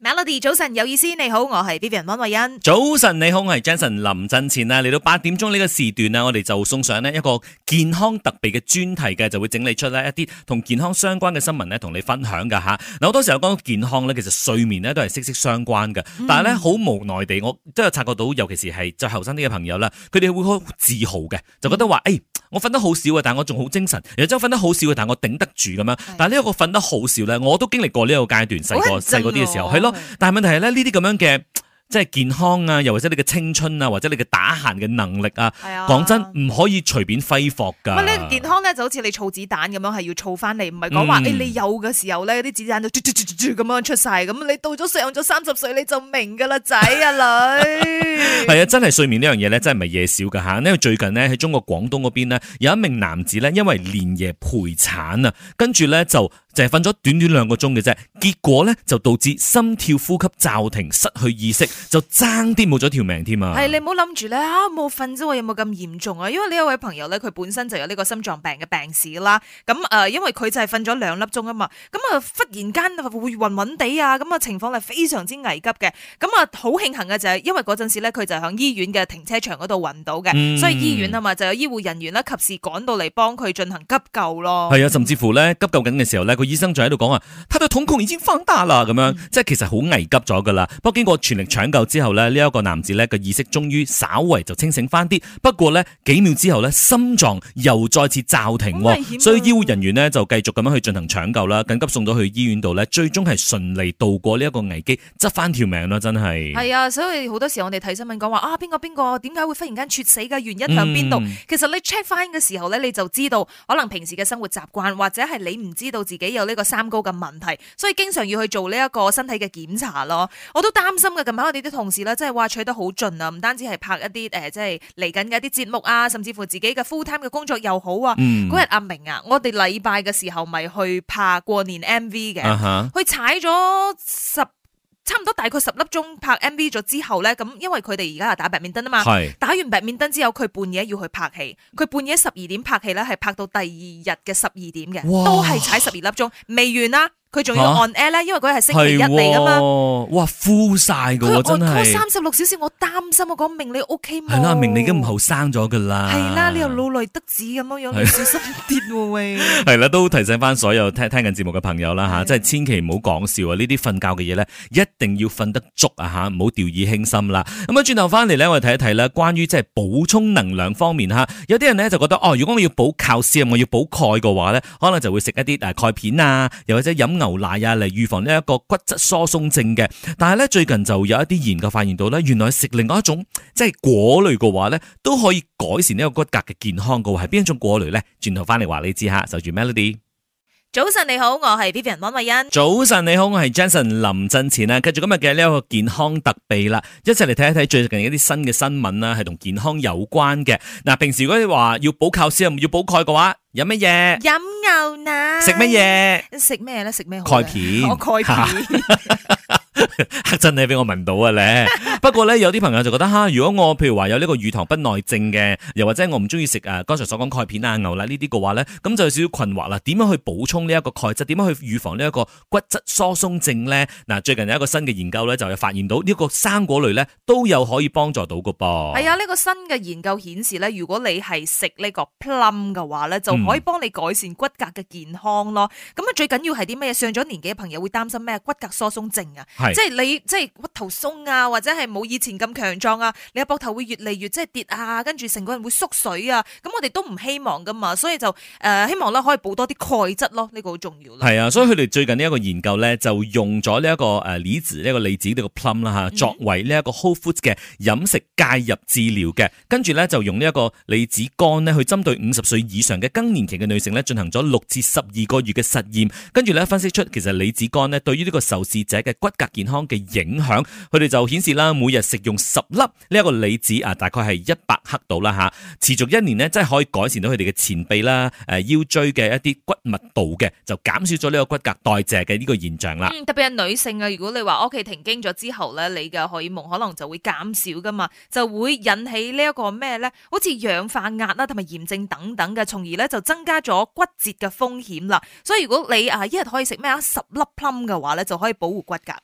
Melody 早晨有意思，你好，我係 Vivian 溫慧欣。 早晨你好，我係 Jason 林振前啦。嚟到8點鐘呢個時段啊，我哋就送上呢一個健康特備嘅專題嘅，就會整理出呢一啲同健康相關嘅新聞呢，同你分享噶吓。嗱，好多時候講健康呢，其實睡眠呢都係息息相關嘅，但係呢，好無奈地，我都有察覺到，尤其是係再後生啲嘅朋友啦，佢哋會好自豪嘅，就覺得話我瞓得好少啊，但係我仲好精神。然之後瞓得好少啊，但係我頂得住咁樣。但係呢一個瞓得好少咧，我都經歷過呢一個階段，細個啲嘅時候係咯。但係問題係咧，呢啲咁樣嘅即係健康啊，又或者你嘅青春啊，或者你嘅打閒嘅能力啊，講真唔可以隨便揮霍㗎。 咁呢健康咧就好似你儲子彈咁樣，係要儲翻嚟，唔係講話你有嘅時候咧，啲子彈就咁樣出晒。咁你到咗上咗30歲你就明㗎啦，仔啊女。 係啊，真係睡眠呢樣嘢咧，真係唔係嘢少㗎嚇。因為最近呢，喺中國廣東嗰邊呢，有一名男子咧，因為連夜陪產啊，跟住咧就係瞓咗短短2個鐘嘅啫，結果咧就導致心跳呼吸驟停，失去意識，就爭啲冇咗條命添啊！ 係你唔好諗住咧冇瞓啫喎，有冇咁嚴重啊？因為呢一位朋友咧，佢本身就有呢個心臟病嘅病史啦。咁因為佢就係瞓咗2粒鐘啊嘛，咁忽然間會暈暈地啊，咁情況係非常之危急嘅。咁好慶幸嘅就係因為嗰陣時咧，佢就喺醫院嘅停車場嗰度暈到嘅，所以醫院啊嘛就有醫護人員咧及時趕到嚟幫佢進行急救咯。係啊，甚至乎咧急救緊嘅時候咧，個醫生就喺度講啊，他的瞳孔已經放大啦，咁樣即係其實好危急咗噶啦。不過經過全力搶救之後咧，呢一個男子咧個意識終於稍為就清醒翻啲。不過咧幾秒之後咧，心臟又再次驟停，所以醫護人員呢就繼續咁樣去進行搶救啦，緊急送到去醫院度咧，最終係順利度過呢一個危機，執翻條命咯，真係。係啊，所以好多時候我哋睇新聞講話邊個點解會忽然間猝死嘅原因喺邊度？其實你 check 翻嘅時候咧，你就知道可能平時嘅生活習慣，或者係你唔知道自己有呢個三高嘅問題，所以經常要去做呢一個身體嘅檢查咯。我都擔心嘅，近排我哋啲同事咧，即係話取得好盡啊，唔單止係拍一啲即係嚟緊嘅一啲節目啊，甚至乎自己嘅 full time 嘅工作又好啊。嗰日阿明啊，我哋禮拜嘅時候咪去拍過年 MV 嘅，去踩咗差唔多大概10粒鐘拍 MV 咗之後咧，咁因為佢哋而家係打白面燈啊嘛，打完白面燈之後，佢半夜要去拍戲，佢半夜12點拍戲咧，係拍到第2日嘅12點嘅，都係踩12粒鐘，未完啦。佢仲要 on air 咧，因為佢係星期一嚟噶嘛。 哇，full 晒噶喎，真係。 36小時，我擔心，我講明你 OK 冇？ 係啦，明你已經唔後生咗噶啦。 係啦，你又老來得子咁樣樣，你小心啲喎喂。係啦，都提醒翻所有聽緊節目嘅朋友啦吓，即係千祈唔好講笑啊！呢啲瞓覺嘅嘢咧，一定要瞓得足啊吓，唔好掉以輕心啦。咁轉頭翻嚟咧，我哋睇一睇咧，關於即係補充能量方面吓，有啲人咧就覺得如果我要補靠攝，我要補鈣嘅話咧，可能就會食一啲鈣片啊，又或者飲牛奶啊，嚟預防呢一個骨質疏鬆症嘅。但係咧最近就有一啲研究發現到咧，原來食另外一種即係果類嘅話咧，都可以改善呢個骨骼嘅健康嘅。係邊一種果類咧？轉頭翻嚟話你知下，守住 Melody。 早晨你好，我係 Vivian 溫慧欣。 早晨你好，我係 Jason 林振前啊。繼續今日嘅呢一個健康特備啦，一齊嚟睇一睇最近一啲新嘅新聞啦，係同健康有關嘅。嗱，平時如果你話要補靠先，要補鈣嘅話，飲乜嘢？飲牛奶。 食乜嘢？ 食咩咧？食咩好？ 鈣片。 鈣片。 真係俾我聞到啊咧！不過咧，有啲朋友就覺得如果我譬如話有呢個乳糖不耐症嘅，又或者我唔中意食剛才所講鈣片啊、牛奶呢啲嘅話咧，咁就有少少困惑啦。點樣去補充呢一個鈣質？點樣去預防呢一個骨質疏鬆症咧？嗱，最近有一個新嘅研究咧，就有發現到呢個生果類咧都有可以幫助到嘅噃。係啊， 呢個新嘅研究顯示咧，如果你係食呢個 plum 嘅話咧，就可以幫你改善骨骼嘅健康咯。咁最緊要係啲咩？上咗年紀嘅朋友會擔心咩？骨骼疏鬆症啊，即係你即係骨頭鬆啊，或者係冇以前咁強壯啊，你個膊頭會越嚟越即係跌啊，跟住成個人會縮水啊，咁我哋都唔希望噶嘛，所以就希望咧可以補多啲鈣質咯，呢個好重要咯。 係啊，所以佢哋最近呢一個研究咧，就用咗呢一個李子呢個李子呢個 plum 啦吓，作為呢一個 whole foods 嘅飲食介入治療嘅，跟住咧就用呢一個李子乾咧去針對50歲以上嘅更年期嘅女性咧進行咗6至12個月嘅實驗，跟住咧分析出其實李子乾咧對於呢個受試者嘅骨骼健康嘅影響，佢哋就顯示啦，每日食用10粒呢一個李子啊，大概係100克度啦吓，持續1年呢，真係可以改善到佢哋嘅前臂啦、腰椎嘅一啲骨密度嘅，就減少咗呢個骨骼代謝嘅呢個現象啦。 特別係女性啊，如果你話屋企停經咗之後咧，你嘅荷爾蒙可能就會減少噶嘛，就會引起呢一個咩咧，好似氧化壓啦，同埋炎症等等嘅，從而咧就增加咗骨折嘅風險啦。所以如果你一日可以食咩10粒 plum 嘅話咧，就可以保護骨骼啦。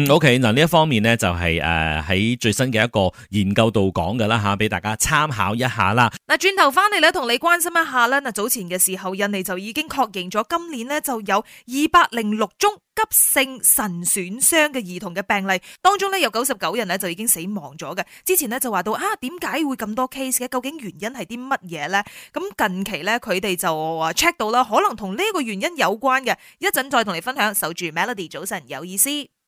OK， 嗱呢一方面呢，就係喺最新嘅一個研究度講嘅啦吓，俾大家參考一下啦。 嗱，轉頭翻嚟咧，同你關心一下啦。嗱，早前嘅時候，印尼就已經確認咗今年呢就有206宗急性腎損傷嘅兒童嘅病例，當中呢有99人呢就已經死亡咗嘅。之前呢就話到點解會咁多 case 嘅？究竟原因係啲乜嘢呢？咁近期呢，佢哋就話 check 到啦，可能同呢個原因有關嘅。一陣再同你分享。守住 Melody， 早晨有意思。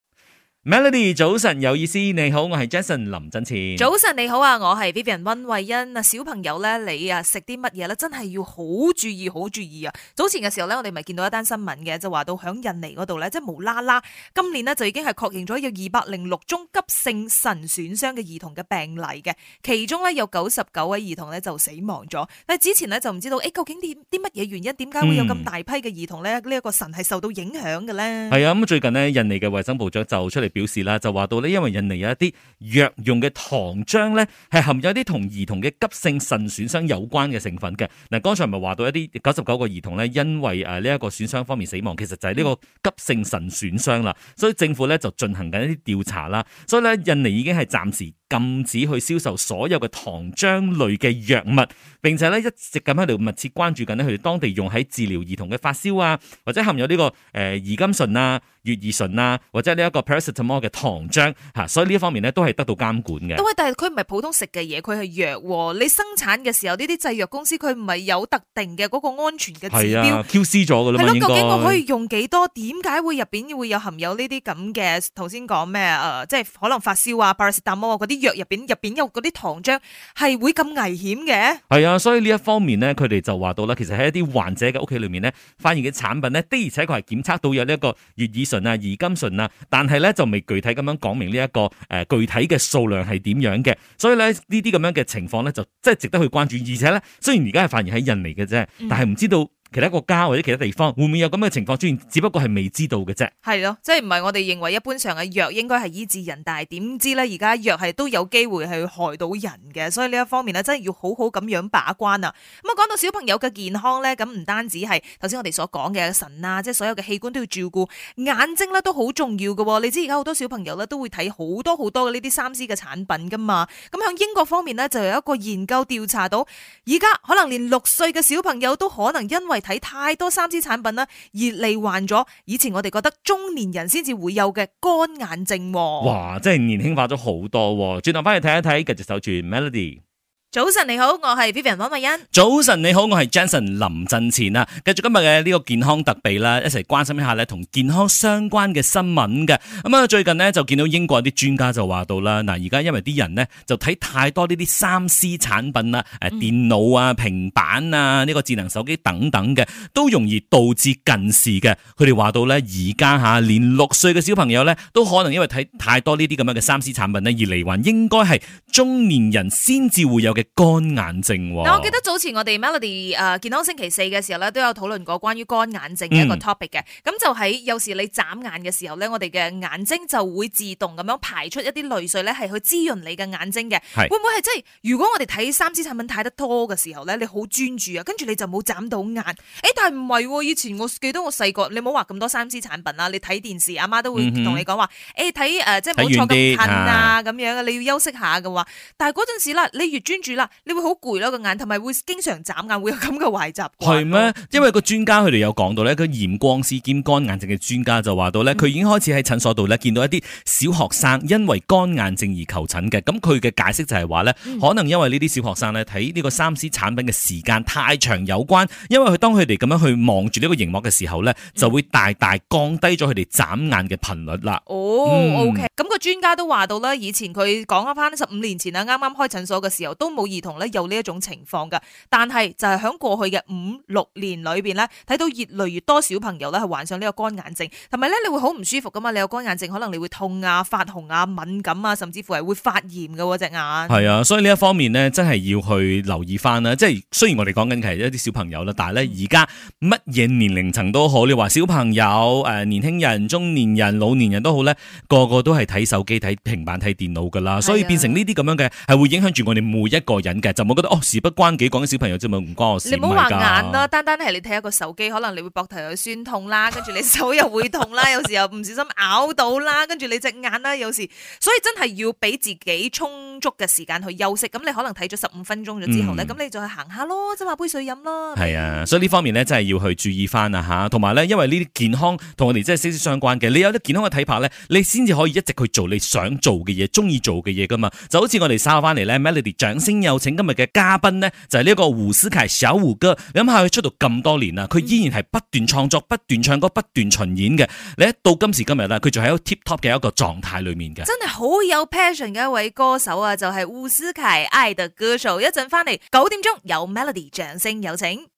Melody 早晨有意思，你好，我係 Jason 林振前。 早晨你好啊，我係 Vivian 溫慧欣。小朋友咧，你食啲乜嘢咧，真係要好注意，好注意啊！早前嘅時候咧，我哋咪見到一單新聞嘅，就話到響印尼嗰度咧，即係無啦啦，今年呢就已經係確認咗有206宗急性腎損傷嘅兒童嘅病例嘅，其中咧有99位兒童咧就死亡咗。但係之前咧就唔知道，究竟啲乜嘢原因，點解會有咁大批嘅兒童咧呢一個腎係受到影響嘅咧？ 係啊，咁最近呢，印尼嘅衛生部長就出嚟表示啦，就話到咧，因為印尼有一啲藥用嘅糖漿咧，係含有一啲同兒童嘅急性腎損傷有關嘅成分嘅。嗱，剛才咪話到一啲99個兒童咧，因為呢一個損傷方面死亡，其實就係呢個急性腎損傷啦。所以政府咧就進行緊一啲調查啦。所以咧，印尼已經係暫時禁止去銷售所有嘅糖漿類嘅藥物，並且咧一直咁喺度密切關注緊咧佢哋當地用喺治療兒童嘅發燒啊，或者含有呢個兒甘醇啊、乙二醇啊，或者呢一個 paracetamol 嘅糖漿嚇，所以呢一方面咧都係得到監管嘅。 但係佢唔係普通食嘅嘢，佢係藥喎。你生產嘅時候，呢啲製藥公司佢唔係有特定嘅嗰個安全嘅指標 QC 咗㗎啦嘛，應該。 究竟我可以用幾多？點解會入邊會有含有呢啲咁嘅頭先講咩即係可能發燒啊、paracetamol 啊嗰啲藥入邊有嗰啲糖漿係會咁危險嘅？ 係啊，所以呢一方面呢，佢哋就話到啦，其實喺一啲患者嘅屋企裏面呢，發現嘅產品呢，的而且確係檢測到有呢一個乙二醇啊、乙甘醇啊，但係咧就未具體咁樣講明呢一個具體嘅數量係點樣嘅，所以咧呢啲咁樣嘅情況咧就真係值得去關注，而且咧雖然而家係發現喺印尼嘅啫，但係唔知道其他國家或者其他地方會唔會有咁嘅情況出現，只不過係未知道嘅啫。係咯，即係唔係我哋認為一般上嘅藥應該係醫治人，但係點知咧而家藥係都有機會係害到人嘅，所以呢一方面咧真係要好好咁樣把關啊。咁啊講到小朋友嘅健康咧，咁唔單止係頭先我哋所講嘅腎啊，即係所有嘅器官都要照顧，眼睛咧都好重要嘅。你知而家好多小朋友咧都會睇好多嘅呢啲3C 嘅產品噶嘛。咁響英國方面咧就有一個研究調查到，而家可能連6歲嘅小朋友都可能因為睇太多3C 產品啦，而罹患咗以前我哋覺得中年人先至會有嘅乾眼症。 哇，真係年輕化咗好多。轉頭翻去睇一睇，繼續守住 Melody。 早晨你好，我係 Vivian 溫慧欣。 早晨你好，我係 Jason 林振前啊。繼續今日嘅呢個健康特備啦，一齊關心一下咧同健康相關嘅新聞嘅。咁啊，最近呢，就見到英國啲專家就話到啦，嗱而家因為啲人呢，就睇太多呢啲3C 產品啊，電腦啊、平板啊、呢個智能手機等等嘅，都容易導致近視嘅。佢哋話到咧，而家連6歲嘅小朋友咧，都可能因為睇太多呢啲咁樣嘅3C 產品咧，而罹患應該係中年人先至會有嘅乾眼症。 嗱，我記得早前我哋 Melody 健康星期4嘅時候咧，都有討論過關於乾眼症嘅一個 topic 嘅。咁就喺有時你眨眼嘅時候咧，我哋嘅眼睛就會自動咁樣排出一啲淚水咧，係去滋潤你嘅眼睛嘅。會唔會係即係如果我哋睇3C 產品睇得多嘅時候咧，你好專注啊，跟住你就冇眨到眼？但係唔係，以前我記得我細個，你冇話咁多3C 產品啦，你睇電視，阿媽都會同你講話，睇即係冇坐咁近啊，咁樣你要休息下嘅話。但係嗰陣時啦，你越專注啦，你會好攰咯個眼，同埋會經常眨眼，會有咁嘅壞習慣。係咩？ 因為個專家佢哋有講到咧，個驗光師兼乾眼症嘅專家就話到咧，佢已經開始喺診所度咧見到一啲小學生因為乾眼症而求診嘅。咁佢嘅解釋就係話咧，可能因為呢啲小學生咧睇呢個3C 產品嘅時間太長有關，因為當佢哋咁樣去望住呢個熒幕嘅時候咧，就會大大降低咗佢哋眨眼嘅頻率啦。 OK，咁個專家都話到啦，以前佢講翻15年前啦，啱啱開診所嘅時候都冇兒童咧有呢一種情況噶，但係就係喺過去嘅5-6年裏邊咧，睇到越嚟越多小朋友咧係患上呢個乾眼症，同埋咧你會好唔舒服噶嘛，你有乾眼症可能你會痛啊、發紅啊、敏感啊，甚至乎係會發炎嘅隻眼。係啊，所以呢一方面咧真係要去留意翻啦。即係雖然我哋講緊係一啲小朋友啦，但係咧而家乜嘢年齡層都好，你話小朋友、年輕人、中年人、老年人都好咧，個個都係睇手機、睇平板、睇電腦噶啦，所以變成呢啲咁樣嘅係會影響住我哋每一個人嘅，就冇覺得事不關己，講啲小朋友啫嘛，唔關我事。 你唔好話眼啦，單係你睇一個手機，可能你會膊頭有酸痛啦，跟住你手又會痛啦，有時候唔小心咬到啦，跟住你隻眼啦，有時所以真係要俾自己充足嘅時間去休息。咁你可能睇咗15分鐘咗之後咧，咁你就去行下咯，即係買杯水飲咯。 係啊，所以呢方面咧真係要去注意翻啊吓，同埋咧，因為呢啲健康同我哋真係息息相關嘅。你有啲健康嘅體魄咧，你先至可以一直去做你想做嘅嘢，中意做嘅嘢噶嘛。就好似我哋稍後翻嚟咧 Melody 掌聲有請今日嘅嘉賓咧，就係呢一個胡思凱小胡哥。你諗下佢出道咁多年啦，佢依然係不斷創作、不斷唱歌、不斷巡演嘅。你一到今時今日啦，佢仲喺一個 tip top 嘅一個狀態裏面嘅。 真係好有 passion 嘅一位歌手啊，就係胡思凱愛的歌手。一陣翻嚟9點鐘有 Melody 掌聲有請。